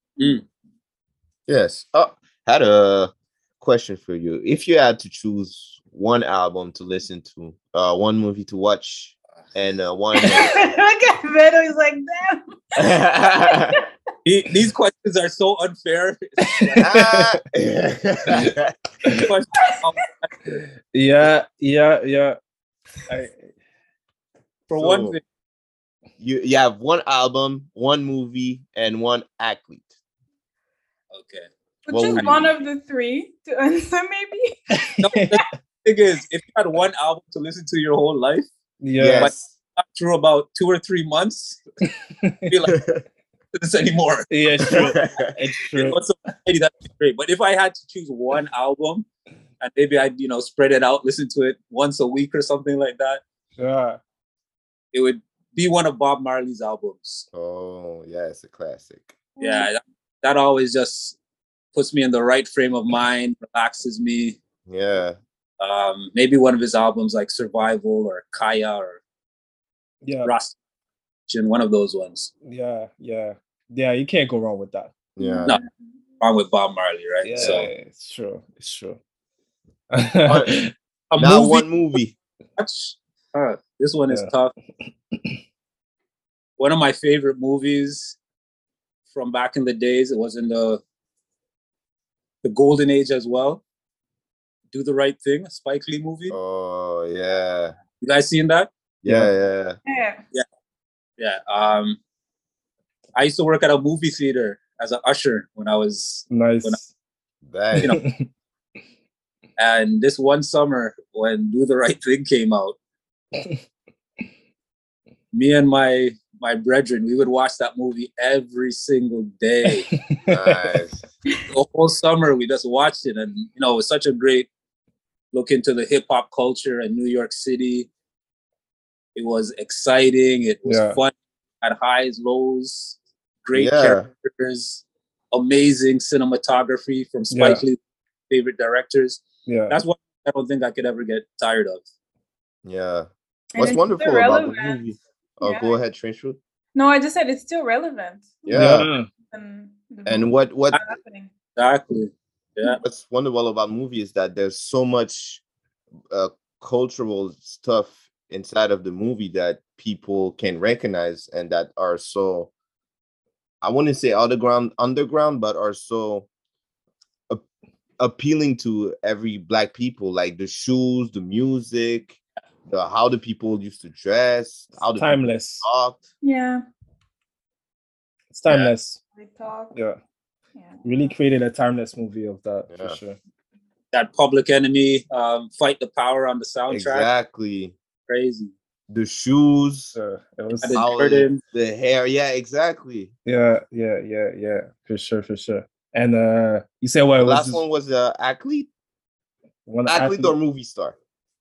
Yes. Had a question for you. If you had to choose one album to listen to, one movie to watch, and one Look at Beto, he's like, damn. These questions are so unfair. Yeah. One thing, you have one album, one movie, and one athlete. Okay. Just one of the three to answer, maybe. No, the thing is, if you had one album to listen to your whole life, but after about 2 or 3 months, you're like, this anymore. Yeah, it's true. It's true. That'd be great. But if I had to choose one album, and maybe I'd spread it out, listen to it once a week or something like that. Yeah. It would be one of Bob Marley's albums. Oh yeah, it's a classic. Yeah, that always just puts me in the right frame of mind, relaxes me. Yeah. Maybe one of his albums like Survival or Kaya or Rasta, one of those ones. Yeah, you can't go wrong with that. Yeah. No, wrong with Bob Marley, right? Yeah, so it's true. One movie. This one is tough. One of my favorite movies from back in the days, it was in the golden age as well. Do the Right Thing, a Spike Lee movie. Oh yeah. You guys seen that? Yeah. I used to work at a movie theater as an usher when I was nice. And this one summer when Do the Right Thing came out, me and my brethren, we would watch that movie every single day. Nice. The whole summer we just watched it, and it was such a great look into the hip hop culture in New York City. It was exciting. It was fun. Had highs, lows, great characters, amazing cinematography from Spike Lee's favorite directors. Yeah, that's what I don't think I could ever get tired of. Yeah. What's wonderful about the movie? Oh, go ahead, Trench Root. No, I just said it's still relevant. Yeah. And what happening? Exactly. Yeah. What's wonderful about movie is that there's so much cultural stuff inside of the movie that people can recognize and that are so, I wouldn't say underground, but are so appealing to every Black people, like the shoes, the music, how the people used to dress, how the timeless people talked. Yeah, it's timeless. They talk. Yeah, really created a timeless movie of that for sure. That Public Enemy, Fight the Power on the soundtrack. Exactly. Crazy. The shoes, it was the hair. Yeah, exactly. Yeah. For sure. And you said what? The last one was the athlete. Athlete or movie star?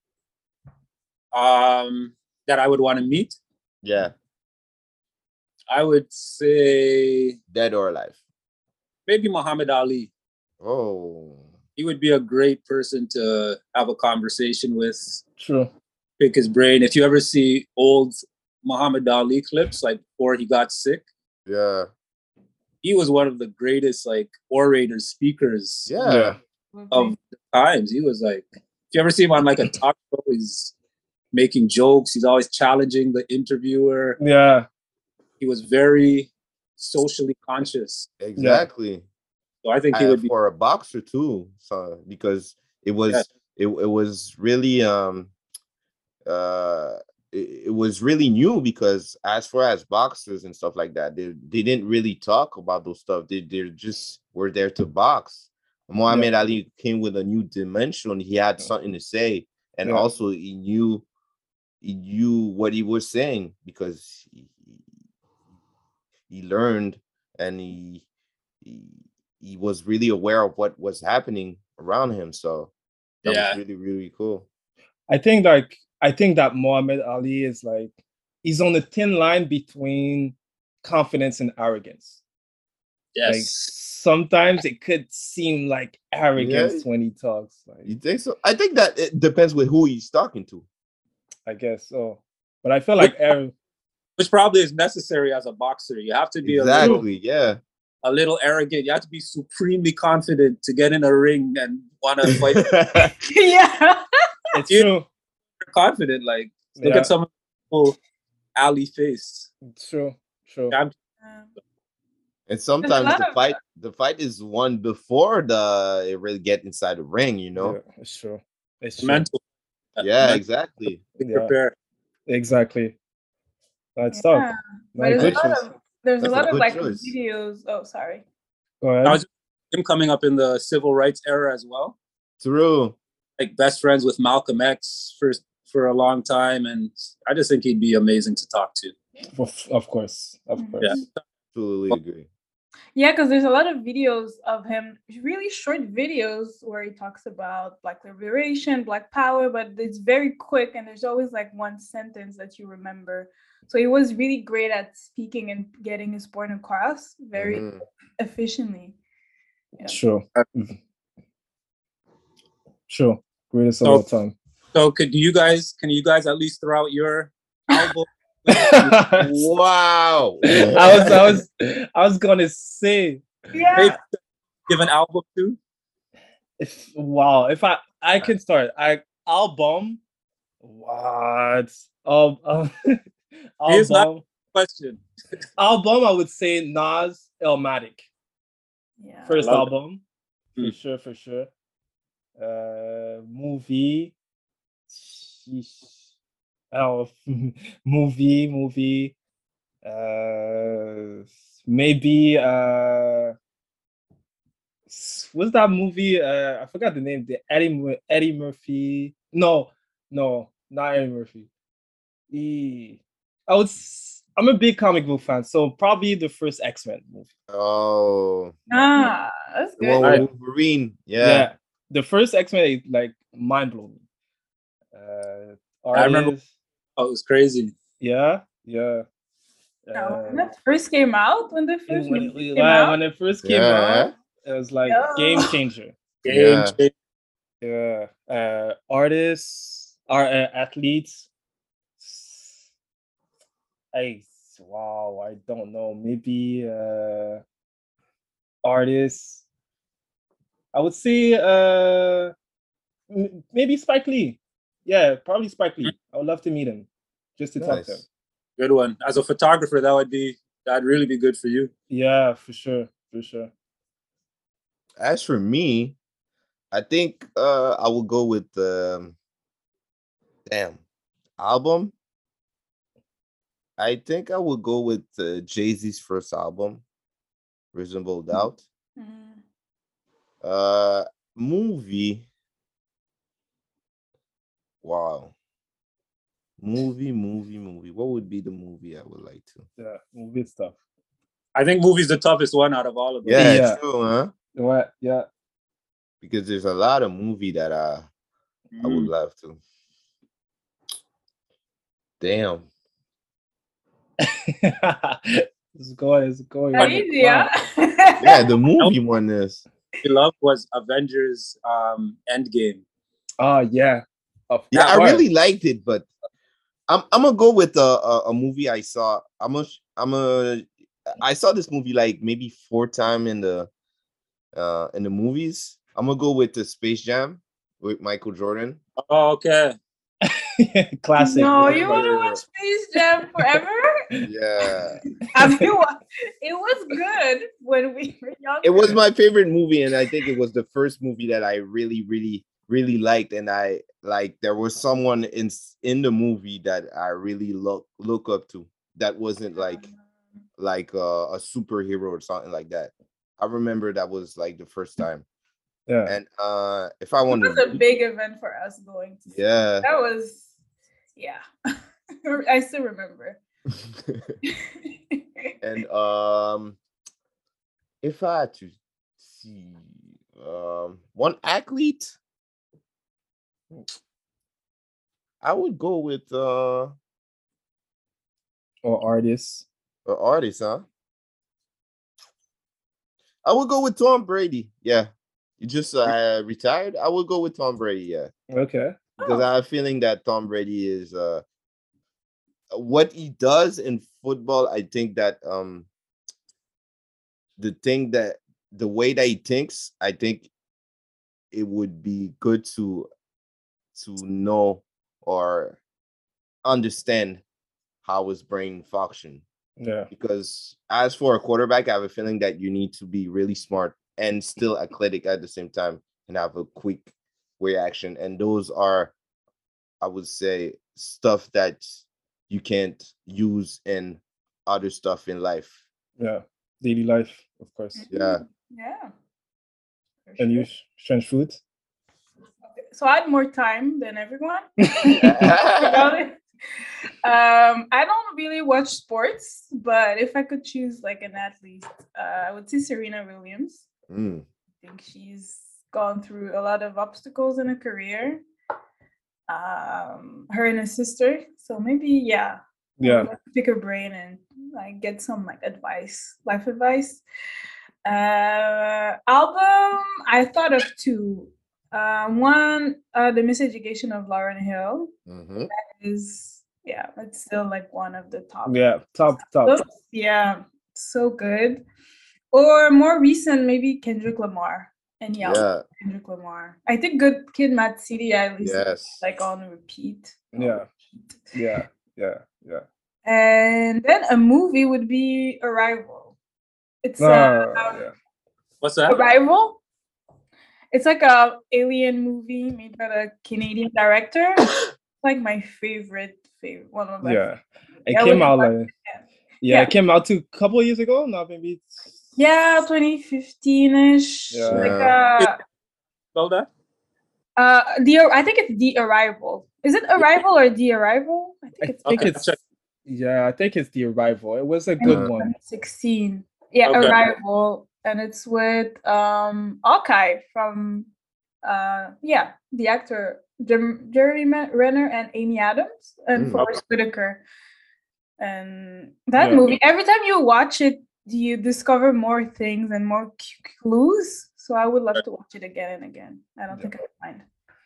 That I would want to meet. Yeah. I would say dead or alive. Maybe Muhammad Ali. Oh. He would be a great person to have a conversation with. True. Pick his brain. If you ever see old Muhammad Ali clips, like before he got sick. Yeah. He was one of the greatest orators, speakers. Yeah. Of the times. He was if you ever see him on a talk show, he's making jokes. He's always challenging the interviewer. Yeah. He was very socially conscious. Exactly. So I think he would be for a boxer too. So because it was it was really it it was really new because as far as boxers and stuff like that, they didn't really talk about those stuff. They just were there to box. Muhammad Ali came with a new dimension. He had something to say, and also he knew what he was saying because he learned, and he was really aware of what was happening around him. So that was really, really cool. I think that Muhammad Ali is like, he's on the thin line between confidence and arrogance. Yes. Like, sometimes it could seem like arrogance when he talks. Like, you think so? I think that it depends with who he's talking to. I guess so. But I feel like which probably is necessary as a boxer. You have to be a little arrogant. You have to be supremely confident to get in a ring and want to fight. It's true. Confident, like look at some of Ali face. True. And sometimes the fight is won before it really get inside the ring, you know. Yeah, it's true. It's mental. Yeah, exactly. Prepare. Exactly. That's tough. There's a lot of like choice. videos. Oh, sorry. Go ahead. Now, him coming up in the civil rights era as well. True. Like best friends with Malcolm X for a long time, and I just think he'd be amazing to talk to. Of course. Yeah, absolutely agree. Yeah, because there's a lot of videos of him, really short videos where he talks about Black liberation, Black power, but it's very quick and there's always like one sentence that you remember. So he was really great at speaking and getting his point across very efficiently. Yeah. Sure. Greatest of all time. So can you guys at least throw out your album? Wow. I was gonna say, give an album too. If I can start, album. What? Here's not a question. Album, I would say Nas, Illmatic. Yeah. First album, for sure. Movie. Movie. Maybe what's that movie? I forgot the name. The Eddie Murphy. No, not Eddie Murphy. I'm a big comic book fan, so probably the first X-Men movie. Oh, that's good. The one with Wolverine. Yeah. The first X-Men like mind blowing. I remember. Oh, it was crazy. Yeah. When that first came out, when it first came out, it was like game changer. Yeah. Artists, athletes. I don't know. Maybe artists. I would say maybe Spike Lee. Yeah, probably Spike Lee. I would love to meet him just to talk to him. Good one. As a photographer, that'd really be good for you. Yeah, for sure. As for me, I think I will go with album. I think I will go with Jay-Z's first album, Reasonable Doubt. Movie. Wow. Movie. What would be the movie I would like to? Yeah, movie stuff. I think movie's the toughest one out of all of them. Yeah. True, huh? What? Yeah. Because there's a lot of movie that I would love to. Damn. It's going. Crazy, yeah. Yeah, the movie one is. I loved was Avengers Endgame. Oh yeah. I really liked it, but I'm gonna go with a movie I saw. I saw this movie like maybe 4 times in the movies. I'm gonna go with the Space Jam with Michael Jordan. Oh, okay. Classic. No, you want to watch Space Jam forever? Yeah. It was good when we were young. It was my favorite movie, and I think it was the first movie that I really, really, really liked, and I like there was someone in the movie that I really look up to that wasn't like a superhero or something like that. I remember that was like the first time. Yeah. And if I want It was a big event for us going to see. Yeah. That was, yeah. I still remember. And if I had to see one athlete, I would go with Or artists. Or artist, huh? I would go with Tom Brady. Yeah. You just retired. I would go with Tom Brady, yeah. Okay. Because I have a feeling that Tom Brady is what he does in football. I think that the way that he thinks, I think it would be good to know or understand how his brain function. Yeah. Because as for a quarterback, I have a feeling that you need to be really smart and still athletic at the same time and have a quick reaction. And those are, I would say, stuff that you can't use in other stuff in life. Yeah. Daily life, of course. Yeah. Yeah. And you, strange food? So I had more time than everyone. I don't really watch sports, but if I could choose like an athlete, I would say Serena Williams. I think she's gone through a lot of obstacles in her career. Her and her sister. So maybe, yeah. Yeah. Pick her brain and like get some like advice, life advice. Album, I thought of two. One, The Miseducation of Lauryn Hill. That is, yeah, it's still like one of the top. Yeah, top. Yeah, so good. Or more recent, maybe Kendrick Lamar. And yeah, Kendrick Lamar. I think Good Kid, Mad City, I listen like on repeat. Yeah. And then a movie would be Arrival. It's What's that? Arrival. It's like a alien movie made by a Canadian director. It's like my favorite one of my favorite. It came out like it came out a couple of years ago, not maybe. Yeah, 2015-ish. Yeah. Spell that? I think it's The Arrival. Is it Arrival or The Arrival? I think it's I think it's The Arrival. It was a good one. 2016. Yeah, okay. Arrival. And it's with Hawkeye from the actor Jeremy Renner and Amy Adams and Forrest Whitaker. And that movie, every time you watch it, you discover more things and more clues. So I would love to watch it again and again. I don't think I would mind.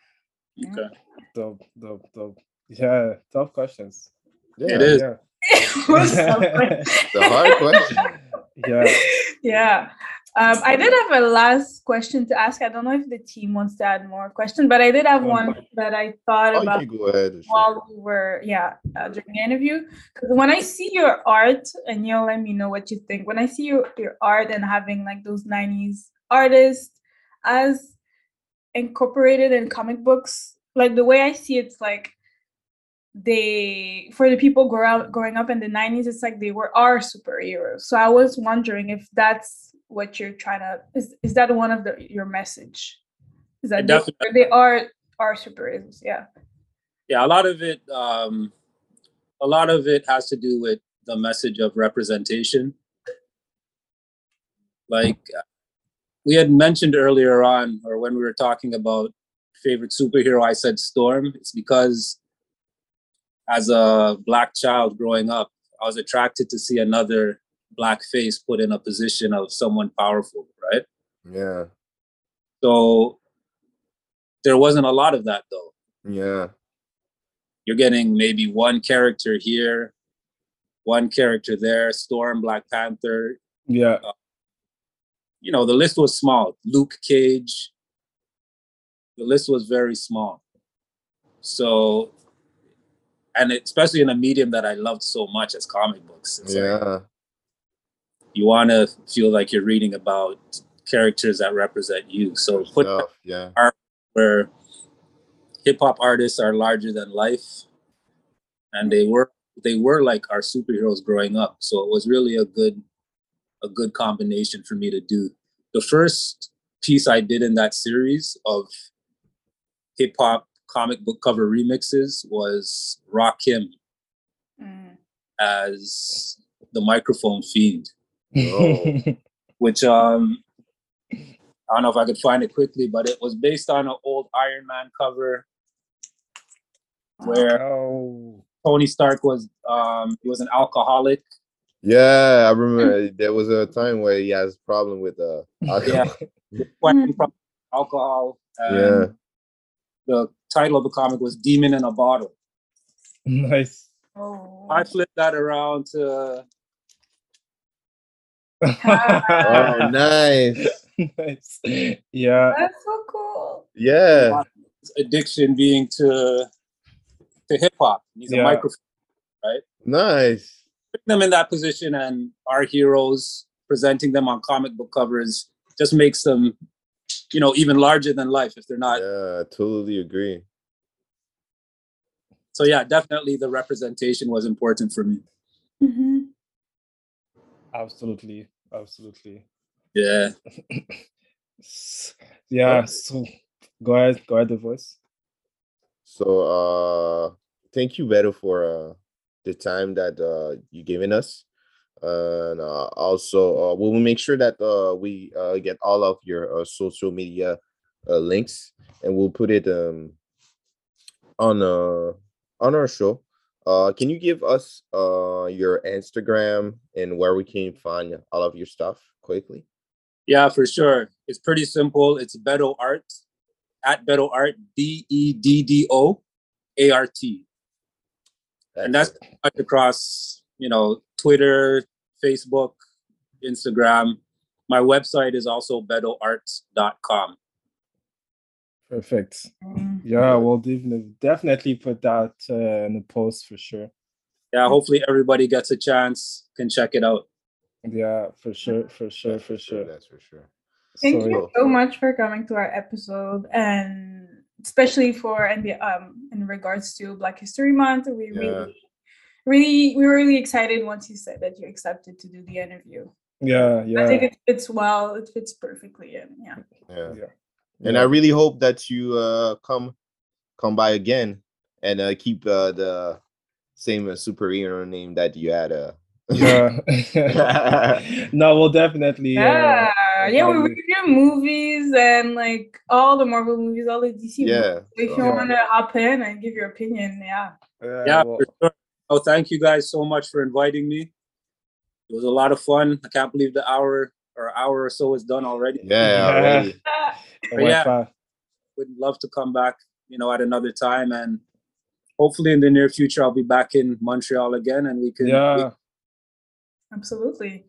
Okay. Dope. Yeah, tough questions. Yeah, it is. Yeah. It's a hard question. Yeah. I did have a last question to ask. I don't know if the team wants to add more questions, but I did have one that I thought about while we were during the interview. Because when I see your art, and you'll let me know what you think. When I see your art and having like those 90s artists as incorporated in comic books, like the way I see it's like for the people growing up in the 90s, it's like they were our superheroes. So I was wondering if that's what you're trying to is that one of your message? Is that they are our superheroes? Yeah. Yeah, a lot of it has to do with the message of representation. Like we had mentioned earlier on, or when we were talking about favorite superhero, I said Storm. It's because as a Black child growing up, I was attracted to see another Black face put in a position of someone powerful, right? Yeah. So there wasn't a lot of that though. Yeah. You're getting maybe one character here, one character there, Storm, Black Panther. Yeah. The list was small. Luke Cage. The list was very small. So, and especially in a medium that I loved so much as comic books. It's like, you want to feel like you're reading about characters that represent you. So put art where hip hop artists are larger than life, and they were like our superheroes growing up. So it was really a good combination for me to do. The first piece I did in that series of hip hop comic book cover remixes was Rakim as the Microphone Fiend, which I don't know if I could find it quickly, but it was based on an old Iron Man cover where Tony Stark was he was an alcoholic. Yeah, I remember there was a time where he has a problem with alcohol. And the title of the comic was Demon in a Bottle. Nice. Oh. I flipped that around to Oh, nice. Nice. Yeah. That's so cool. Yeah. addiction being to hip hop. He's a microphone, right? Nice. Putting them in that position and our heroes presenting them on comic book covers just makes them, you know, even larger than life if they're not. Yeah, I totally agree. So yeah, definitely the representation was important for me. Mm-hmm. Absolutely. Yeah. Yeah. So go ahead, the voice. So thank you, Beto, for the time that you given us. And also we'll make sure that we get all of your social media links, and we'll put it on our show. Can you give us your Instagram and where we can find all of your stuff quickly? Yeah, for sure. It's pretty simple. It's Beto Art, at Beto Art, BEDDOART. And that's across, you know, Twitter, Facebook, Instagram. My website is also betoart.com. Perfect. Yeah, we'll definitely put that in the post for sure. Yeah, hopefully everybody gets a chance, can check it out. Yeah, for sure. That's for sure. Thank you so much for coming to our episode, and especially for in regards to Black History Month. We we were really excited once you said that you accepted to do the interview. Yeah. I think it fits well. It fits perfectly, and yeah. And I really hope that you come by again and keep the same superhero name that you had. Yeah. No, we'll definitely. Yeah, we do movies and like all the Marvel movies, all the DC movies. So if you want to hop in and give your opinion, for sure. Oh, thank you guys so much for inviting me. It was a lot of fun. I can't believe the hour or so is done already. Already. But would love to come back, you know, at another time, and hopefully in the near future I'll be back in Montreal again, and we can. Absolutely.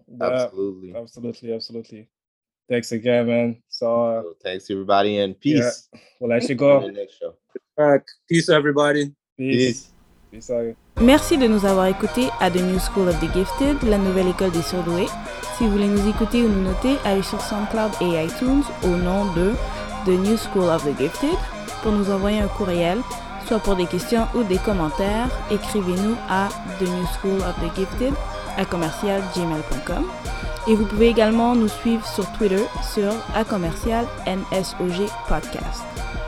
Thanks again, man. So thanks everybody, and peace. Yeah. We'll let you go. Next show. Peace everybody. Peace. Merci de nous avoir écoutés à The New School of the Gifted, la nouvelle école des surdoués. Si vous voulez nous écouter ou nous noter, allez sur SoundCloud et iTunes au nom de The New School of the Gifted. Pour nous envoyer un courriel, soit pour des questions ou des commentaires, écrivez-nous à The New School of the Gifted @gmail.com. Et vous pouvez également nous suivre sur Twitter sur @NSOG Podcast.